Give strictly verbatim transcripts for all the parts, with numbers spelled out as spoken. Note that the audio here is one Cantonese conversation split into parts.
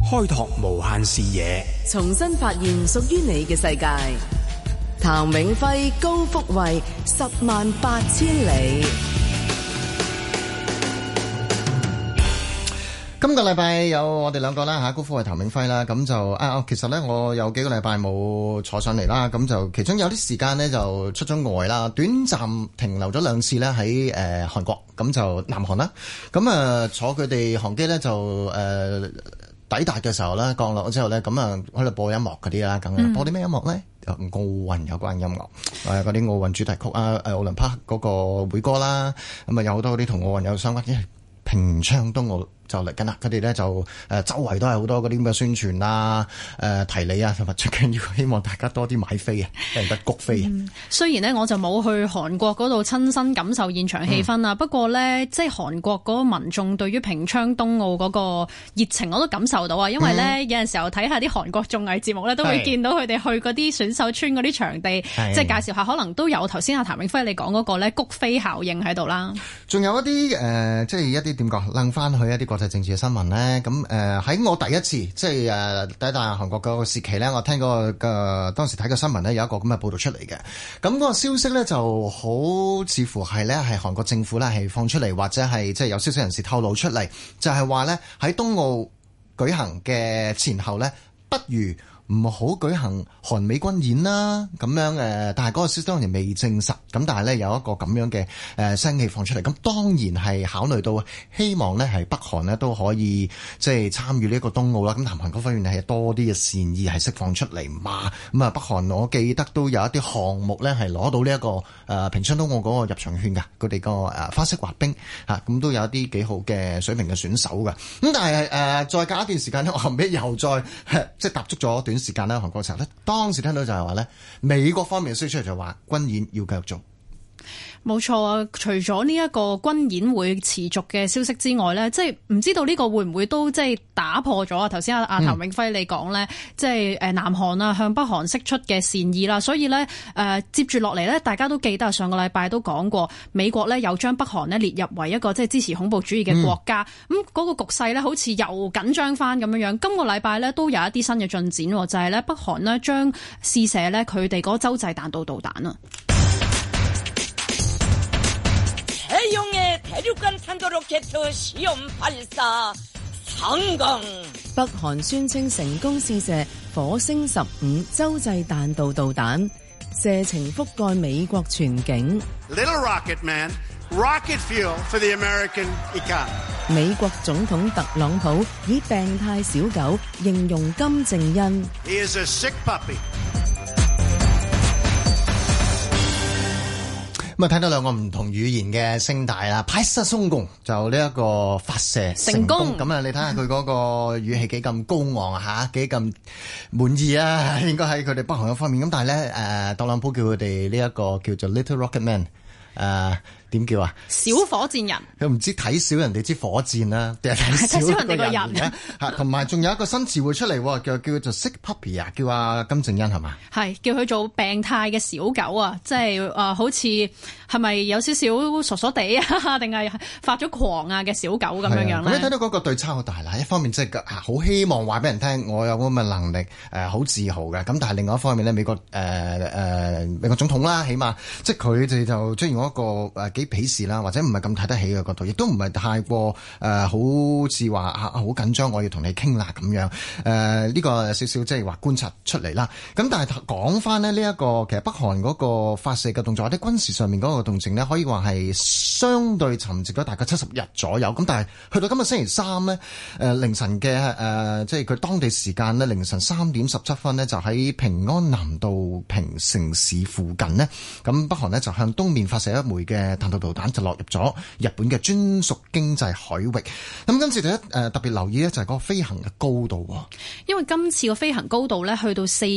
開拓無限視野， 重新發現屬於你嘅世界。譚永輝、高福慧，十萬八千里。 今個禮拜有我哋兩個啦嚇，高福慧、譚永輝啦，咁就啊，其實咧我有幾個禮拜冇坐上嚟啦，咁就其中有啲時間咧就出咗外啦，短暫停留咗兩次咧喺誒韓國，咁就南韓啦，咁啊坐佢哋航機咧就誒、呃、抵達嘅時候咧降落之後咧，咁啊喺度播音樂嗰啲啦，咁、嗯、播啲咩音樂咧？奧運有關音樂，誒嗰啲奧運主題曲啊，誒奧林匹克嗰個會歌啦，咁啊有好多嗰啲同奧運有相關，因為平昌冬奧就嚟緊啦，佢哋咧就誒周圍都係好多嗰啲咁嘅宣傳啊、誒、呃、提你啊，同埋最緊要希望大家多啲買飛啊，人得谷飛啊、嗯。 雖然呢，我就冇去韓國嗰度親身感受現場氣氛啊、嗯，不過咧即係韓國嗰個民眾對於平昌冬奧嗰個熱情我都感受到啊，因為咧、嗯、有陣時候睇下啲韓國綜藝節目咧，都會見到佢哋去嗰啲選手村嗰啲場地，即係介紹下，可能都有頭先阿譚永輝你講嗰個咧谷飛效應喺度啦。仲有一啲誒、呃，即係一啲點講，楞翻去一啲國際政治嘅新聞咧，咁誒喺我第一次即係誒第一大韓國嗰個時期咧，我聽過嘅當時睇個新聞咧，有一個咁嘅報導出嚟嘅。咁嗰個消息咧就好似乎係咧係韓國政府咧係放出嚟，或者係即係有消息人士透露出嚟，就係話咧喺冬奧舉行嘅前後咧，不如唔好舉行韓美軍演啦，咁樣誒，但係嗰個消息當然未證實，咁但係咧有一個咁樣嘅誒聲氣放出嚟，咁當然係考慮到希望咧係北韓咧都可以即係參與呢一個冬奧啦，咁南韓嗰方面係多啲嘅善意係釋放出嚟嘛，咁啊北韓我記得都有一啲項目咧係攞到呢一個誒平昌冬奧嗰個入場券㗎，佢哋個誒花式滑冰嚇，咁都有一啲幾好嘅水平嘅選手㗎，咁但係誒、呃、再隔一段時間咧，我後尾又再即係踏足咗短時間咧，韓國嘅時候咧，當時聽到就係話咧，美國方面嘅消息出嚟就話軍演要繼續做。 冇錯啊！除咗呢一個軍演會持續嘅消息之外咧，即係唔知道呢個會唔會都即係打破咗啊？頭先阿阿譚永輝你講咧，即係誒南韓啊向北韓釋出嘅善意啦，所以咧誒、呃、接住落嚟咧，大家都記得上個禮拜都講過，美國咧有將北韓咧列入為一個即係支持恐怖主義嘅國家，咁、嗯、嗰、那個局勢咧好似又緊張翻咁樣樣。今個禮拜咧都有一啲新嘅進展，就係、是、咧北韓呢將試射咧佢哋嗰洲際彈道導彈啊。 北韓宣稱成功試射火星十五洲際彈道導彈，射程覆蓋美國全境。 Little rocket man, rocket fuel for the American economy. 美國總統特朗普以病態小狗形容金正恩。 He is a sick puppy. 咁啊，睇到兩個唔同語言嘅聲帶啦，拍攝成功就呢一個發射成功。咁啊，你睇下佢嗰個語氣幾咁高昂啊，嚇幾咁滿意啊，應該喺佢哋北韓嘅方面。咁但係咧，誒特朗普叫佢哋呢一個叫做 Little Rocket Man，誒、呃。點叫啊？ 小火箭人， 佢唔知睇小人哋支火箭啦，定係睇小人哋個人咧？嚇，同埋仲有一個新詞彙出嚟，叫叫做 sick puppy 啊，叫阿金正恩係嘛？係叫佢做病態嘅小狗啊，即係誒、呃，好似係咪有少少傻傻地啊，定係發咗狂啊嘅小狗咁樣樣咧？ 咁你睇到嗰個對差好大啦，一方面即係好希望話俾人聽，我有咁嘅能力，誒、呃、好自豪嘅。咁但係另外一方面咧，美國誒誒、呃呃、美國總統啦，起碼即係佢哋就出現咗一個誒幾鄙視啦，或者唔係咁睇得起嘅角度，亦都唔係太過誒、呃，好似話好緊張，我要同你傾啦咁樣。誒、呃、呢、這個少少即係話觀察出嚟啦。咁但係講翻呢，呢、這、一個其實北韓嗰個發射嘅動作或者軍事上面嗰個動靜呢，可以話係相對沉寂咗大概七十日左右。咁但係去到今日星期三呢，誒、呃、凌晨嘅誒、呃、即係佢當地時間呢，凌晨三點十七分呢，就喺平安南道平城市附近呢。咁北韓呢，就向東面發射一枚嘅彈道導彈。就落入咗日本嘅專屬經濟海域。咁今次第一誒特別留意咧，就係嗰個飛行嘅高度。 因為今次個飛行高度咧，去到四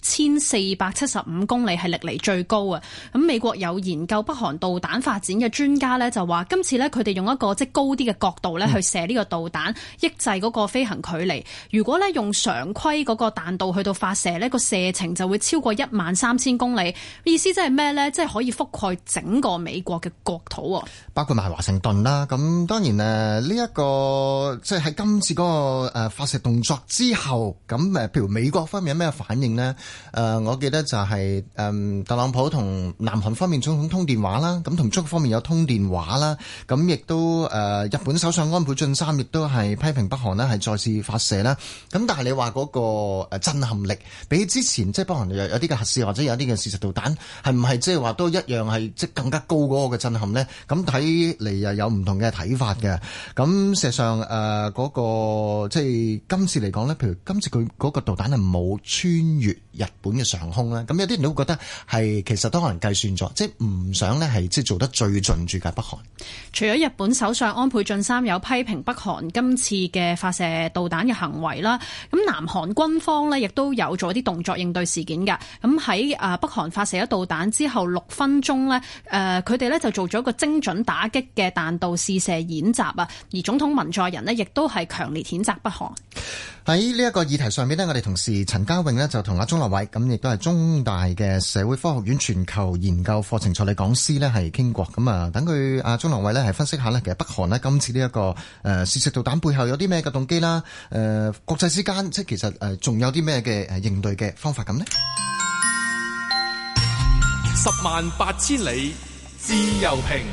千四百七十五公里，係歷嚟最高啊！咁美國有研究北韓導彈發展嘅專家呢，就話今次呢，佢哋用一個即係高啲嘅角度呢去射呢個導彈，抑制嗰個飛行距離。如果呢用常規嗰個彈道去到發射呢，個射程就會超過一萬三千公里。意思即係咩呢？即係可以覆蓋整個美國嘅國土， 包括埋華盛頓啦。咁當然誒呢一個即係喺今次嗰個誒發射動作之後，咁誒譬如美國方面有咩反應呢？誒我記得就係誒特朗普同南韓方面總統通電話啦，咁同中國方面有通電話啦，咁亦都誒日本首相安倍晉三亦都係批評北韓呢係再次發射啦。咁但係你話嗰個誒震撼力比起之前即係北韓有有啲嘅核試或者有啲嘅試射導彈係唔係即係話都一樣係即係更加高嗰個嘅震撼呢？咁睇嚟又有唔同嘅睇法嘅。咁事實上誒嗰、呃那個即係今次嚟講呢，譬如今次佢嗰個導彈係冇穿越日本嘅上空咧，咁有啲人都會覺得係其實都可能計算咗，即係唔想呢係即係做得最盡住嘅北韓。 除咗日本首相安倍晉三有批評北韓今次嘅發射導彈嘅行為啦，咁南韓軍方呢亦都有做啲動作應對事件㗎。咁喺誒北韓發射咗導彈之後六分鐘呢，誒佢哋呢就做咗一個精準打擊嘅彈道試射演習啊。而總統文在寅呢亦都係強烈譴責北韓。 喺呢一個議題上面呢，我哋同事陳家穎呢就同阿鍾樂偉，咁亦都係中大嘅社會科學院全球研究課程助理講師呢係傾過。咁啊，等佢阿鍾樂偉呢係分析下呢，其實北韓呢今次呢、這、一個誒試射導彈背後有啲咩嘅動機啦？誒、呃、國際之間即係其實誒仲有啲咩嘅誒應對嘅方法咁呢？ 十萬八千里自由評。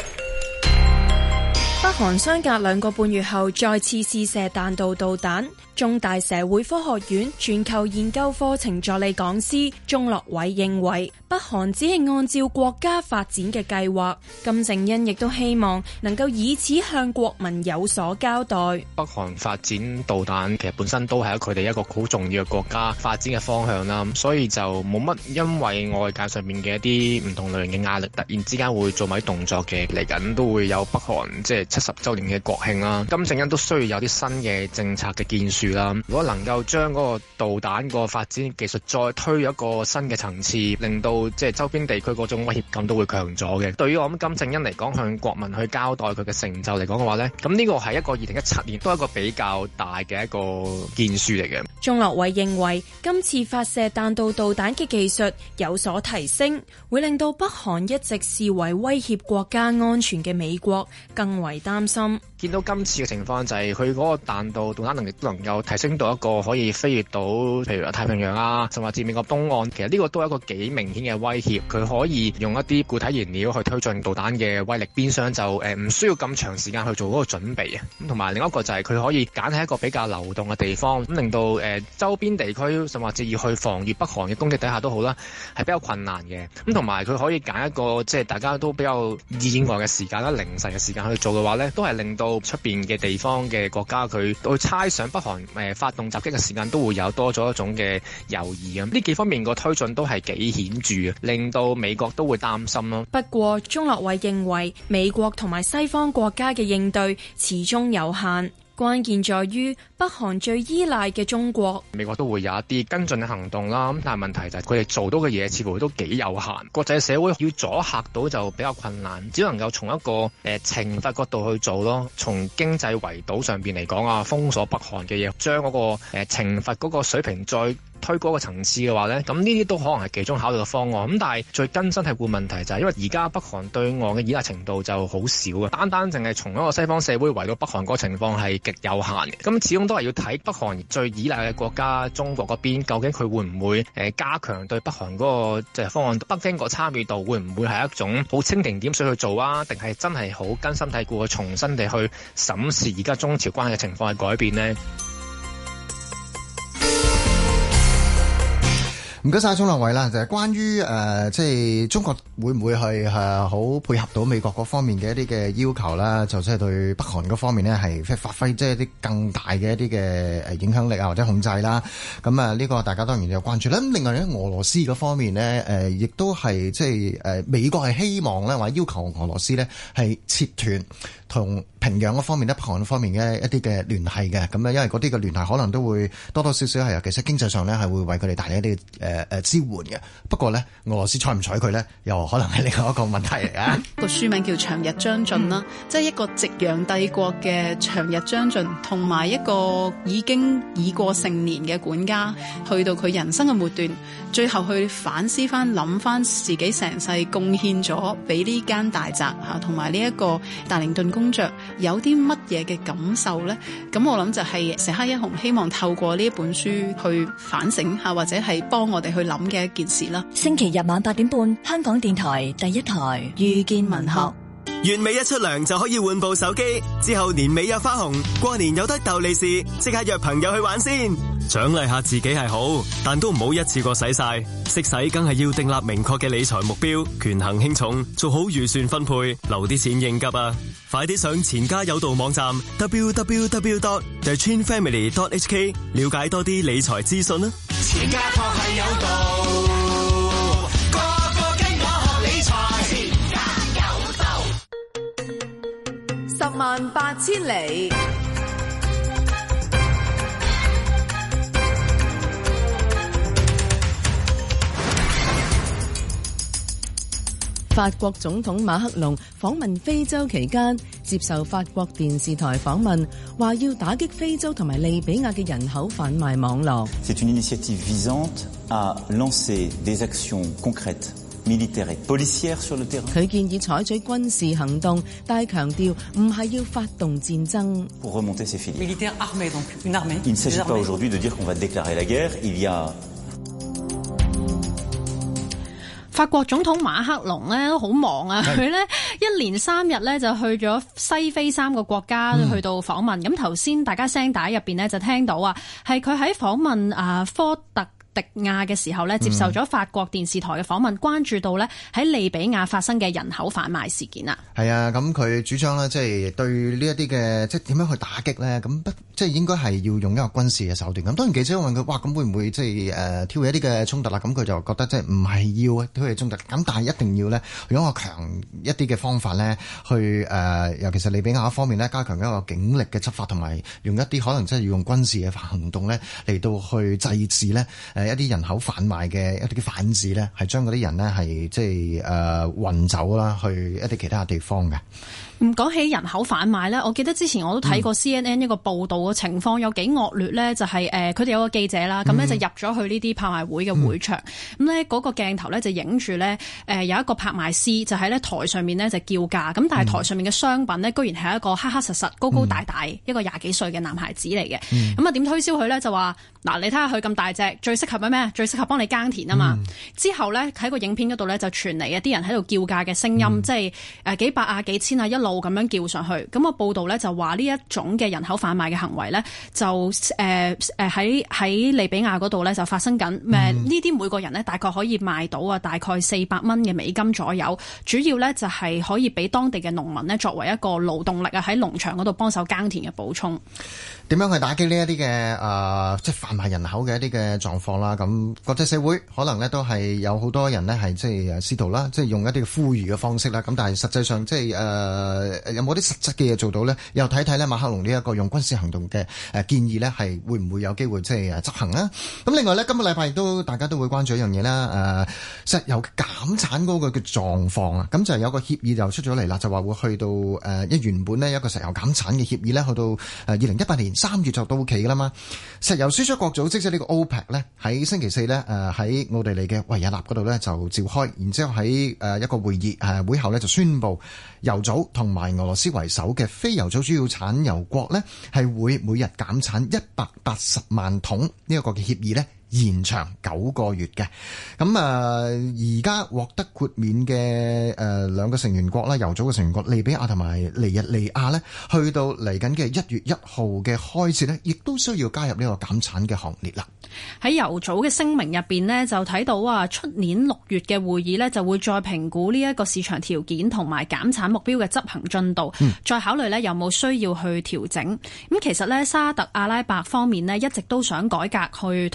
北韓相隔兩個半月後再次試射彈道導彈，中大社會科學院全球研究課程助理講師鍾樂偉認為，北韓只係按照國家發展嘅計劃，金正恩亦都希望能夠以此向國民有所交代。 北韓發展導彈其實本身都係佢哋一個好重要嘅國家發展嘅方向啦，所以就冇乜因為外界上面嘅一啲唔同類型嘅壓力，突然之間會做埋啲動作嘅。嚟緊都會有北韓即係七十週年嘅國慶啦，金正恩都需要有啲新嘅政策嘅建樹啦。如果能夠將嗰個導彈個發展技術再推一個新嘅層次，令到即係周邊地區嗰種威脅感都會強咗嘅。對於我諗金正恩嚟講，向國民去交代佢嘅成就嚟講嘅話呢，咁呢個係一個二零一七年都係一個比較大嘅一個建樹嚟嘅。 鍾樂偉認為今次發射彈道導彈嘅技術有所提升，會令到北韓一直視為威脅國家安全嘅美國更為擔心。 見到今次嘅情況就係佢嗰個彈道導彈能力都能夠提升到一個可以飛越到譬如太平洋啊，甚至美國東岸，其實呢個都係一個幾明顯嘅威脅。佢可以用一啲固體燃料去推進導彈嘅威力，變相就誒唔需要咁長時間去做嗰個準備啊。咁同埋另一個就係佢可以揀喺一個比較流動嘅地方，咁令到誒周邊地區甚至要去防禦北韓嘅攻擊底下都好啦，係比較困難嘅。咁同埋佢可以揀一個即係大家都比較意外嘅時間啦，凌晨嘅時間去做嘅話呢，都係令到出邊嘅地方嘅國家佢去猜想北韓誒發動襲擊嘅時間都會有多咗一種嘅猶豫啊！呢幾方面個推進都係幾顯著啊，令到美國都會擔心咯。 不過鍾樂偉認為美國同埋西方國家嘅應對始終有限。關鍵在於北韓最依賴嘅中國， 美國都會有一啲跟進嘅行動啦。咁但係問題就係佢哋做到嘅嘢似乎都幾有限，國際社會要阻嚇到就比較困難，只能夠從一個誒懲罰角度去做咯。從經濟圍堵上邊嚟講啊，封鎖北韓嘅嘢，將嗰個誒懲罰嗰個水平再推高個層次嘅話呢，咁呢啲都可能係其中考慮嘅方案。咁但係最根深蒂固問題就係因為而家北韓對岸嘅依賴程度就好少嘅，單單淨係從一個西方社會圍到北韓嗰個情況係極有限嘅。咁始終都係要睇北韓最依賴嘅國家中國嗰邊，究竟佢會唔會誒加強對北韓嗰個即係方案？北京個參與度會唔會係一種好蜻蜓點水去做啊？定係真係好根深蒂固去重新地去審視而家中朝關係嘅情況係改變呢？ 唔該晒鍾樂偉啦，就係、是、關於誒、呃，即係中國會唔會係誒好配合到美國嗰方面嘅一啲嘅要求啦？就即係對北韓嗰方面呢，係即係發揮即係啲更大嘅一啲嘅誒影響力啊，或者控制啦。咁啊，呢個大家當然有關注啦。咁另外咧，俄羅斯嗰方面呢，誒、呃、亦都係即係誒美國係希望咧，或者要求俄羅斯呢係切斷同平壤嗰方面咧，北韓嗰方面嘅一啲嘅聯繫嘅。咁咧，因為嗰啲嘅聯繫可能都會多多少少係尤其是經濟上呢，係會為佢哋帶嚟一啲誒。 嘅誒支援嘅。不過咧，俄羅斯睬唔睬佢咧，又可能係另外一個問題嚟啊。 個書名叫長日將盡啦，即係一個夕陽帝國嘅長日將盡，同埋一個已經已過成年嘅管家，去到佢人生嘅末段，最後去反思翻諗翻自己成世貢獻咗俾呢間大宅嚇，同埋呢一個達靈頓公爵有啲乜嘢嘅感受呢？咁我諗就係石黑一雄希望透過呢一本書去反省下，或者係幫我哋去諗嘅一件事啦。 星期日晚八點半，香港電台第一台遇見文學。 月尾一出糧就可以換部手機，之後年尾有花紅，過年有得逗利是，即刻約朋友去玩先。獎勵下自己係好，但都唔好一次過使晒，識使梗係要訂立明確嘅理財目標，權衡輕重，做好預算分配，留啲錢應急啊！快啲上錢家有道網站 double-u double-u double-u dot the chin family dot h k 了解多啲理財資訊啦。 錢家確係有道，個個跟我學理財，錢家有道， 十萬八千里。法國總統馬克龍訪問非洲期間，接受法國電視台訪問，話要打擊非洲同埋利比亞嘅人口販賣網絡。 C'est une initiative visante à lancer des actions concrètes, militaires et policières sur le terrain. 佢建議採取軍事行動，但係強調唔係要發動戰爭。 Pour remonter ces filières. Militaire armé, donc une armée. Il ne s'agit pas aujourd'hui de dire qu'on va déclarer la guerre. Il y a 法國總統馬克龍咧都好忙啊，佢咧一連三日咧就去咗西非三個國家去到訪問。咁頭先大家聲帶入邊咧就聽到啊，係佢喺訪問啊科特迪亞嘅時候咧，接受咗法國電視台嘅訪問，關注到咧喺利比亞發生嘅人口販賣事件啊。 係啊，咁佢主張咧，即係對呢一啲嘅即係點樣去打擊咧？咁不即係應該係要用一個軍事嘅手段。咁當然記者問佢，哇，咁會唔會即係誒挑起一啲嘅衝突啦？咁佢就覺得即係唔係要挑起衝突，咁但係一定要咧用一個強一啲嘅方法咧，去誒、呃，尤其是利比亞一方面咧，加強一個警力嘅執法，同埋用一啲可能即係要用軍事嘅行動咧嚟到去制止咧誒一啲人口販賣嘅一啲嘅販子咧，係將嗰啲人咧係即係誒運走啦，去一啲其他地方嘅。 唔講起人口販賣咧，我記得之前我都睇過 C N N 一個報道嘅情況有幾惡劣咧，就係誒佢哋有個記者啦，咁咧就入咗去呢啲拍賣會嘅會場，咁咧嗰個鏡頭咧就影住咧誒有一個拍賣師就喺咧台上面咧就叫價，咁但係台上面嘅商品咧居然係一個黑黑實實、高高大大、嗯、一個廿幾歲嘅男孩子嚟嘅，咁啊點推銷佢咧就話嗱，你睇下佢咁大隻，最適合咩咩？最適合幫你耕田啊嘛。嗯、之後咧喺個影片嗰度咧就傳嚟一啲人喺度叫價嘅聲音，嗯、即係誒幾百啊、幾千啊一路咁樣叫上去。咁個報道咧就話呢一種嘅人口販賣嘅行為咧就誒誒喺喺利比亞嗰度咧就發生緊。誒呢啲每個人咧大概可以賣到啊大概四百蚊嘅美金左右。主要咧就係可以俾當地嘅農民咧作為一個勞動力啊喺農場嗰度幫手耕田嘅補充。 點樣去打擊呢一啲嘅誒即係販賣人口嘅一啲嘅狀況啦？咁國際社會可能咧都係有好多人咧係即係誒試圖啦，即係用一啲呼籲嘅方式啦。咁但係實際上即係誒有冇啲實質嘅嘢做到咧？又睇睇咧馬克龍呢一個用軍事行動嘅誒建議咧，係會唔會有機會即係誒執行啊？咁另外咧，今個禮拜亦都大家都會關注一樣嘢啦。誒石油減產嗰個嘅狀況啊，咁就有個協議就出咗嚟啦，就話會去到誒一原本呢一個石油減產嘅協議咧，去到誒二零一八年三月就到期噶啦嘛。石油輸出國組織即係呢個 OPEC 咧，喺星期四咧誒喺奧地利嘅維也納嗰度咧就召開，然之後喺誒一個會議誒會後咧就宣布油組同埋俄羅斯為首嘅非油組主要產油國咧係會每日減產一百八十萬桶呢一個嘅協議咧延長九個月嘅。咁啊而家獲得豁免嘅誒兩個成員國啦，油組嘅成員國利比亞同埋尼日利亞咧，去到嚟緊嘅一月一號嘅開始咧，亦都需要加入呢個減產嘅行列啦。 喺油組嘅聲明入邊咧，就睇到啊，出年六月嘅會議咧就會再評估呢一個市場條件同埋減產目標嘅執行進度，嗯、再考慮咧有冇需要去調整。咁其實咧沙特阿拉伯方面咧一直都想改革去抬高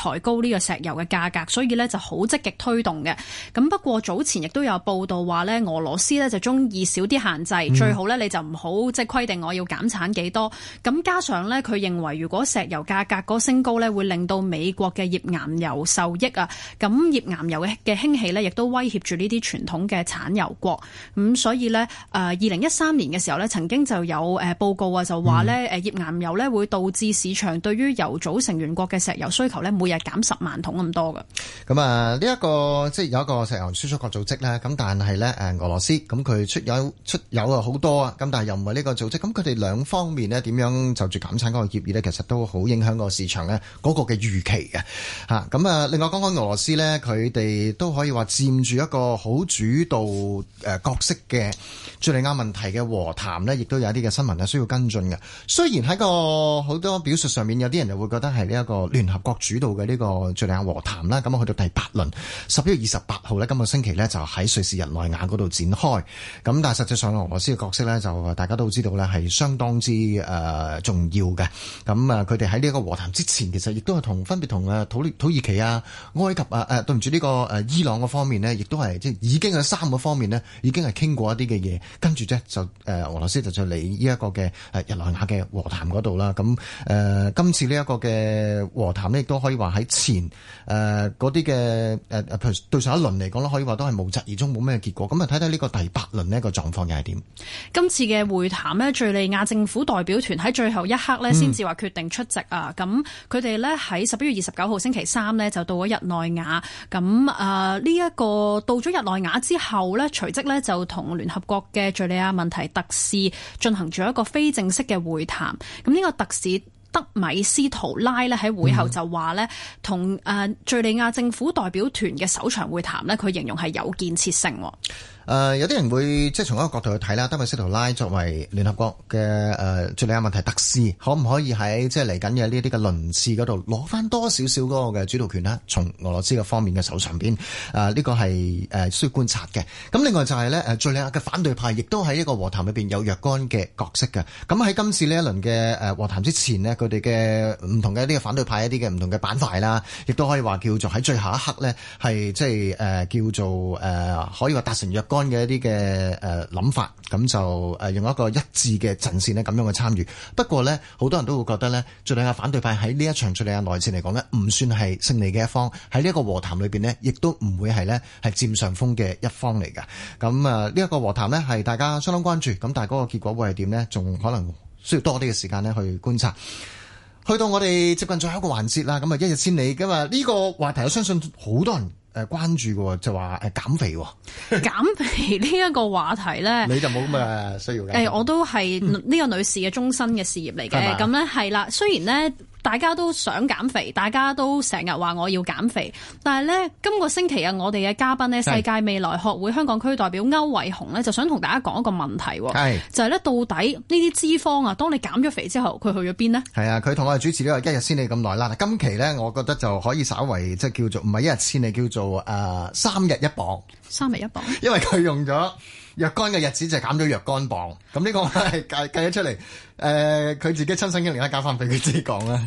呢個石油嘅價格，所以呢就好積極推動嘅。咁不過早前亦都有報道話呢，俄羅斯呢就中意少啲限制，嗯、最好呢你就唔好即係規定我要減產幾多。咁加上呢，佢認為如果石油價格嗰升高呢，會令到美國嘅頁岩油受益啊。咁頁岩油嘅嘅興起呢，亦都威脅住呢啲傳統嘅產油國。咁所以呢，誒二零一三年嘅時候呢，曾經就有誒報告啊，就話呢誒頁岩油呢會導致市場對於油組成員國嘅石油需求呢，每日減十萬桶咁多㗎。 咁啊，呢一個即係有一個石油輸出國組織咧，咁但係咧誒俄羅斯咁佢出油出油啊好多啊，咁但係又唔係呢個組織，咁佢哋兩方面呢點樣就住減產嗰個協議呢？其實都好影響個市場咧嗰個嘅預期嘅嚇。咁啊，另外講講俄羅斯呢，佢哋都可以話佔住一個好主導誒角色嘅敍利亞問題嘅和談呢，亦都有一啲嘅新聞係需要跟進嘅。雖然喺個好多表述上面，有啲人就會覺得係呢一個聯合國主導嘅呢個敍利亞和談啦，咁去到第八輪，十一月二十八號呢，今個星期呢，就喺瑞士日內瓦嗰度展開。咁但係實際上俄羅斯嘅角色呢，就大家都知道呢係相當之誒、呃、重要嘅。咁啊，佢哋喺呢一個和談之前，其實亦都係同分別同誒土土耳其啊、埃及啊誒對唔住呢個誒伊朗嗰方面呢，亦都係即係已經喺三個方面呢，已經係傾過一啲嘅嘢，跟住啫就誒、呃、俄羅斯就就嚟呢一個嘅誒日內瓦嘅和談嗰度啦。咁誒、呃、今次呢一個嘅和談呢，亦都可以話喺前誒嗰啲嘅誒誒譬如對上一輪嚟講咧，可以話都係無疾而終，冇咩結果。咁啊睇睇呢個第八輪呢個狀況又係點？今次嘅會談呢，敘利亞政府代表團喺最後一刻呢先至話決定出席啊。咁佢哋呢喺十一月二十九號星期三呢就到咗日內瓦。咁啊呢一個到咗日內瓦之後呢，隨即呢就同聯合國嘅敘利亞問題特使進行咗一個非正式嘅會談。咁呢個特使德米斯圖拉咧喺會後就話咧，同誒敘利亞政府代表團嘅首場會談咧，佢形容係有建設性。誒、呃、有啲人會即係從一個角度去睇啦，德米斯圖拉作為聯合國嘅誒敍利亞問題特使，可唔可以喺即係嚟緊嘅呢啲嘅輪次嗰度攞翻多少少嗰個嘅主導權呢？從俄羅斯嘅方面嘅手上邊，誒、呃、呢、這個係誒、呃、需要觀察嘅。咁另外就係咧誒敍利亞嘅反對派，亦都喺呢個和談裏邊有若干嘅角色嘅。咁喺今次呢一輪嘅誒和談之前呢，佢哋嘅唔同嘅一啲嘅反對派一啲嘅唔同嘅板塊啦，亦都可以話叫做喺最後一刻呢，係即係誒叫做誒、呃、可以話達成若干嘅一啲嘅誒諗法，咁就誒用一個一致嘅陣線呢咁樣去參與。不過呢，好多人都會覺得呢，敍利亞反對派喺呢一場敍利亞內戰嚟講呢，唔算係勝利嘅一方，喺呢一個和談裏邊呢，亦都唔會係呢係佔上風嘅一方嚟㗎。咁啊呢一個和談呢，係大家相當關注，咁但係嗰個結果會係點呢？仲可能需要多啲嘅時間呢去觀察。去到我哋接近最後一個環節啦，咁啊一日千里㗎嘛，呢個話題我相信好多人誒關注嘅，就話誒減肥。減肥呢一個話題咧，你就冇咁嘅需要嘅。誒，我都係呢個女士嘅終身嘅事業嚟嘅。咁咧係啦，雖然咧大家都想減肥，大家都成日話我要減肥，但係咧今個星期啊，我哋嘅嘉賓咧，世界未來學會香港區代表區煒洪咧，就想同大家講一個問題，係就係咧到底呢啲脂肪啊，當你減咗肥之後，佢去咗邊呢？係啊，佢同我哋主持呢個一日千里咁耐啦。今期咧，我覺得就可以稍為即係叫做唔係一日千里，叫做誒、呃、三日一磅。三日一磅，因為佢用咗若干嘅日子就減咗若干磅。咁呢個係計計咗出嚟。誒、呃，佢自己親身經歷咧，交翻俾佢自己講啦。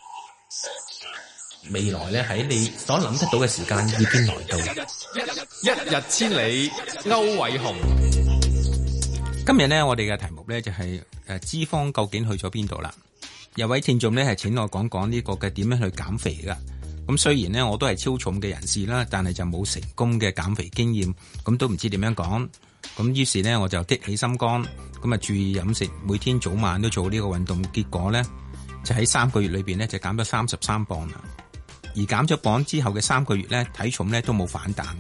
未來咧喺你所諗得到嘅時間已經來到。 一日千里，區煒洪。 今日呢，我哋嘅題目咧就係誒脂肪究竟去咗邊度啦？有位聽眾咧係請我講講呢個嘅點樣去減肥噶。咁雖然呢，我都係超重嘅人士啦，但係就冇成功嘅減肥經驗，咁都唔知點樣講。咁於是呢，我就激起心肝，咁啊注意飲食，每天早晚都做呢個運動，結果呢，就喺三個月裏邊呢，就減咗三十三磅啦。而減咗磅之後嘅三個月呢，體重呢都冇反彈。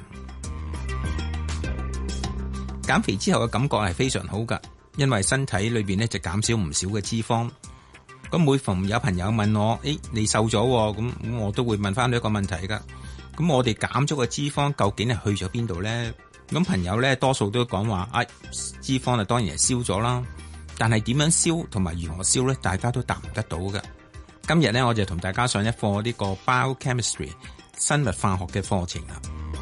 減肥之後嘅感覺係非常好噶，因為身體裏邊呢，就減少唔少嘅脂肪。咁每逢有朋友問我，誒，你瘦咗，咁咁我都會問翻你一個問題噶。咁我哋減咗個脂肪究竟係去咗邊度呢？咁朋友呢，多數都講話，啊，脂肪啊當然係燒咗啦，但係點樣燒同埋如何燒呢？大家都答唔得到噶。今日呢，我就同大家上一課呢個 biochemistry 生物化學嘅課程啦。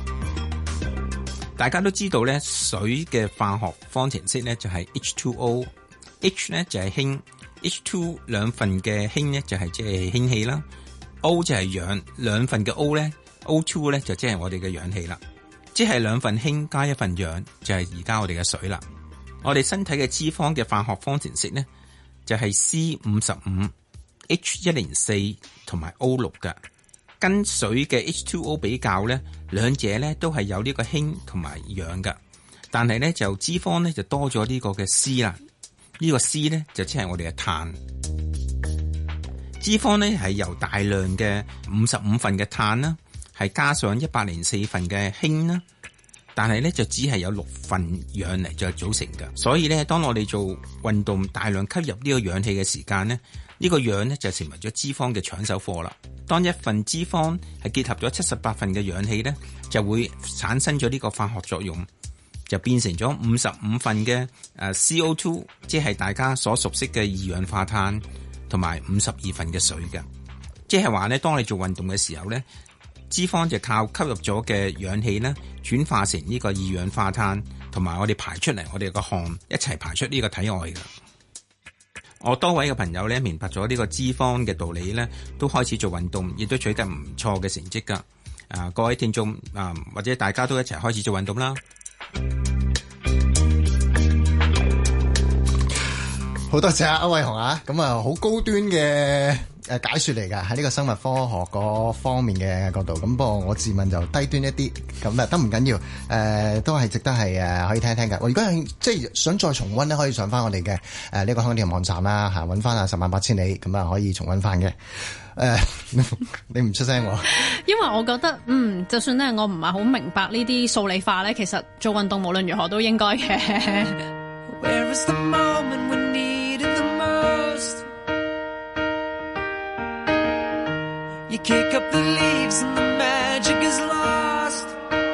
大家都知道呢，水嘅化學方程式呢就係 H 二 O，H 呢就係氫。H 二 兩份嘅氫呢就係即係氫氣啦， O 就係氧，兩份嘅 O 咧 O 二 咧就即係我哋嘅氧氣啦，即係兩份氫加一份氧就係而家我哋嘅水啦。我哋身體嘅脂肪嘅化學方程式咧就係 C 五十五 H 一零四同埋 O 六嘅，跟水嘅 H 二 O 比較咧，兩者咧都係有呢個氫同埋氧嘅，但係咧就脂肪咧就多咗呢個嘅 C 啦，呢個 C 咧就即係我哋嘅碳。脂肪咧係由大量嘅五十五份嘅碳啦，係加上一百零四份嘅氫啦，但係咧就只係有六份氧嚟再組成嘅。所以咧，當我哋做運動大量吸入呢個氧氣嘅時間咧，呢個氧咧就成為咗脂肪嘅搶手貨啦。當一份脂肪係結合咗七十八份嘅氧氣咧，就會產生咗呢個化學作用，就變成咗五十五份嘅誒 C O 二，即係大家所熟悉嘅二氧化碳。同埋五十二份嘅水嘅，即係話咧，當你做運動嘅時候咧，脂肪就靠吸入咗嘅氧氣咧，轉化成呢個二氧化碳，同埋我哋排出嚟，我哋個汗一齊排出呢個體外嘅。我多位嘅朋友咧，明白咗呢個脂肪嘅道理咧，都開始做運動，亦都取得唔錯嘅成績噶。啊，各位聽眾啊，或者大家都一齊開始做運動啦。 好多謝阿歐偉雄啊，咁啊好高端嘅誒解說嚟噶，喺呢個生物科學嗰方面嘅角度，咁不過我自問就低端一啲，咁啊都唔緊要，誒、呃、都係值得係誒可以聽一聽嘅。我如果係即係想再重溫咧，可以上翻我哋嘅誒呢個香港電台網站啦，吓搵翻啊十萬八千里，咁啊可以重溫翻嘅。誒、呃，你唔出聲喎？ 因為我覺得，嗯，就算咧我唔係好明白呢啲數理化咧，其實做運動無論如何都應該嘅。Where is the moment when you kick up the leaves and the magic is lost.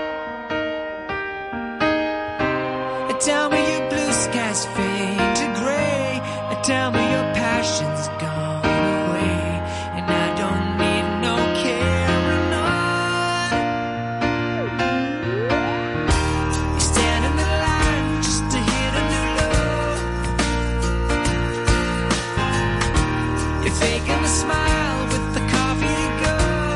Tell me your blue skies fade to gray. Tell me your passion's gone away. And I don't need no carrying on. You stand in the line just to hit a new low. You're faking a smile with the coffee to go.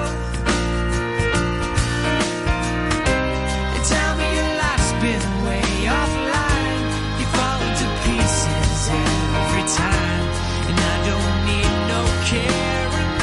And tell me your life's been way offline. You fall to pieces every time. And I don't need no carrying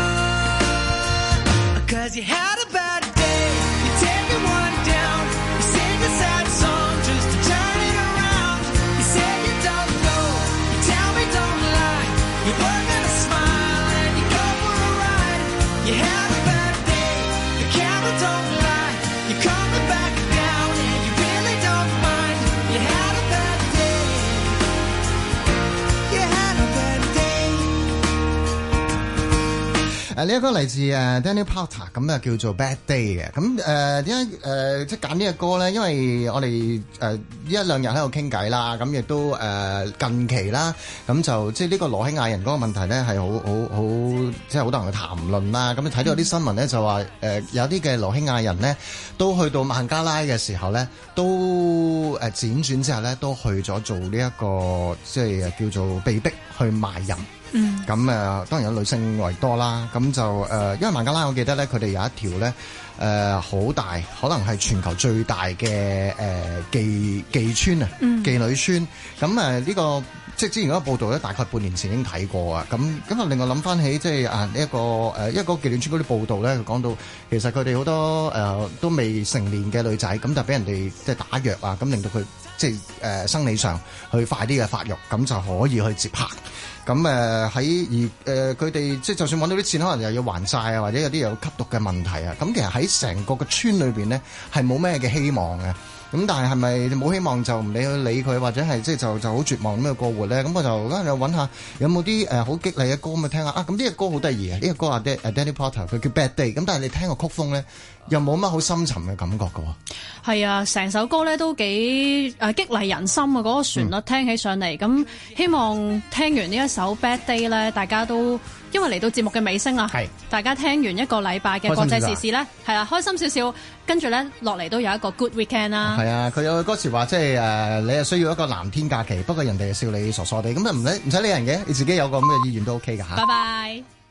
on. Cause you had a bad day. You take it one down. You sing a sad song just to turn it around. You say you don't know. You tell me don't lie. You work on a smile and you go for a ride. You had a bad day. The camera don't lie. You're coming back down and you really don't mind. You had a bad day. You had a bad day. 誒呢一個嚟自誒 Daniel Powter， 咁啊叫做 Bad Day 嘅。咁誒點解誒即係揀呢個歌咧？因為我哋誒呢一兩日喺度傾偈啦，咁亦都誒、呃、近期啦，咁就即係呢個羅興亞人嗰個問題咧係好好好，即係好多人去談論啦。咁你睇到啲新聞咧就話誒、呃、有啲嘅羅興亞人咧都去到孟加拉嘅時候咧，都誒輾轉之後咧都去咗做呢、這、一個即係叫做被逼去賣淫。嗯，咁誒、呃、當然有女性為多啦，咁就誒、呃，因為孟加拉我記得咧，佢哋有一條咧誒好大，可能係全球最大嘅誒、呃、妓妓村啊，嗯、妓女村。咁誒呢個即係之前嗰個報道咧，大概半年前已經睇過啊。咁咁啊，令我諗翻起即係啊呢一個誒一個妓女村嗰啲報道咧，佢講到其實佢哋好多誒、呃、都未成年嘅女仔，咁就俾人哋即係打藥啊，咁令到佢即係誒、呃、生理上去快啲嘅發育，咁就可以去接客。咁誒喺而誒佢哋即係就算揾到啲錢，可能又要還債啊，或者有啲有吸毒嘅問題啊。咁其實喺成個嘅村裏邊咧，係冇咩嘅希望嘅。咁但係係咪冇希望就唔理去理佢，或者係即係就就好絕望咁去過活咧？咁我就嗰陣揾下有冇啲誒好激勵嘅歌咁去聽下啊！咁呢個歌好得意啊！呢個歌啊 Danny Porter 佢叫 Bad Day， 咁但係你聽個曲風咧，又冇乜好深沉嘅感覺㗎喎。係啊，成首歌咧都幾誒激勵人心啊！嗰、那個旋律聽起上嚟，咁、嗯、希望聽完呢一首 Bad Day 咧，大家都因為嚟到節目嘅尾聲啦，係大家聽完一個禮拜嘅國際時事咧，係啦，開心少少，跟住咧落嚟都有一個 Good Weekend 啦。係啊，佢有個歌詞話，即係誒，你係需要一個藍天假期，不過人哋笑你傻傻地，咁啊唔使唔使理人嘅，你自己有個咁嘅意願都 OK 㗎嚇。拜拜。